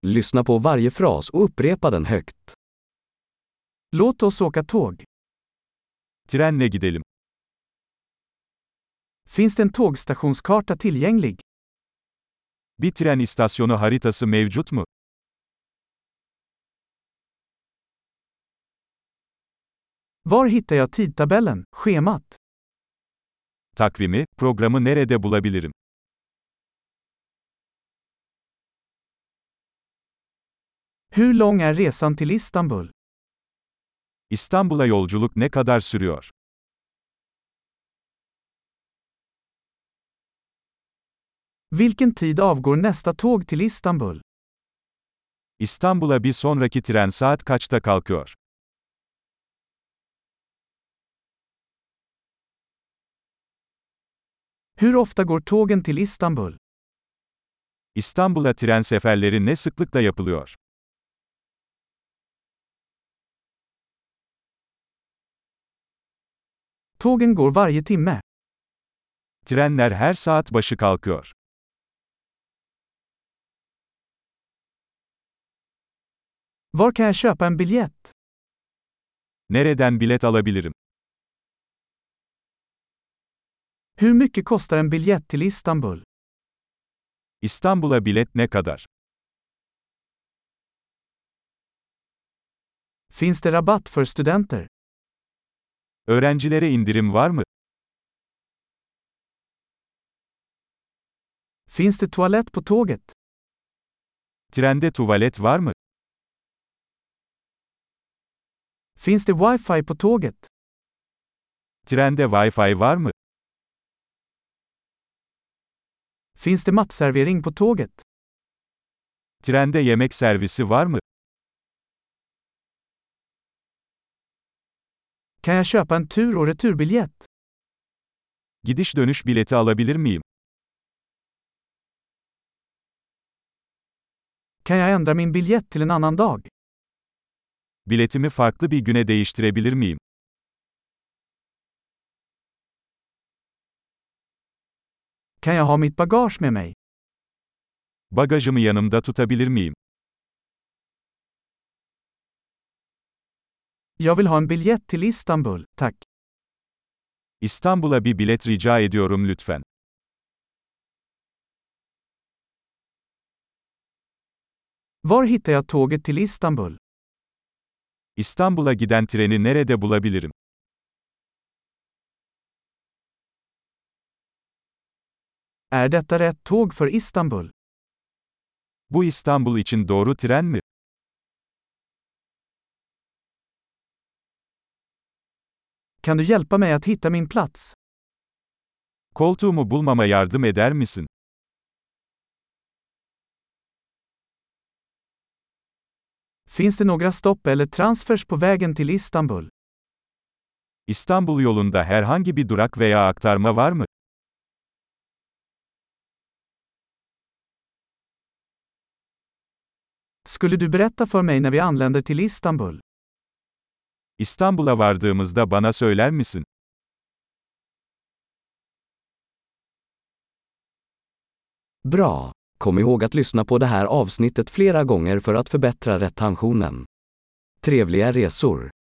Lyssna på varje fras och upprepa den högt. Låt oss åka tåg. Trenle gidelim. Finns det en tågstationskarta tillgänglig? Bir tren istasyonu haritası mevcut mu? Var hittar jag tidtabellen, schemat? Takvimi, programı nerede bulabilirim? Hur lång är resan till Istanbul? İstanbul'a yolculuk ne kadar sürüyor? Vilken tid avgår nästa tåg till Istanbul? İstanbul'a bir sonraki tren saat kaçta kalkıyor? Hur ofta går tågen till Istanbul? İstanbul'a tren seferleri ne sıklıkla yapılıyor? Tågen går varje timme. Trenler her saat başı kalkıyor. Var kan jag köpa en biljett? Nereden bilet alabilirim? Hur mycket kostar en biljett till Istanbul? İstanbul'a bilet ne kadar? Finns det rabatt för studenter? Öğrencilere indirim var mı? Finns det toalett på tåget? Trende tuvalet var mı? Finns det wifi på tåget? Trende Wi-Fi var mı? Finns det matservering på tåget? Trende yemek servisi var mı? Kan jag köpa en tur- och returbiljett? Gidiş dönüş bileti alabilir miyim? Kan jag ändra min biljett till en annan dag? Biletimi farklı bir güne değiştirebilir miyim? Kan jag ha mitt bagage med mig? Bagajımı yanımda tutabilir miyim? Jag vill ha en biljett till Istanbul, tack. İstanbul'a bir bilet rica ediyorum lütfen. Var hittar jag tåget till Istanbul? İstanbul'a giden treni nerede bulabilirim? Är detta rätt tåg för Istanbul? Bu İstanbul için doğru tren mi? Kan du hjälpa mig att hitta min plats? Koltuğumu bulmama yardım eder misin? Finns det några stopp eller transfers på vägen till Istanbul? İstanbul yolunda herhangi bir durak veya aktarma var mı? Skulle du berätta för mig när vi anländer till Istanbul? İstanbul'a vardığımızda bana söyler misin? Bra! Kom ihåg att lyssna på det här avsnittet flera gånger för att förbättra retentionen. Trevliga resor!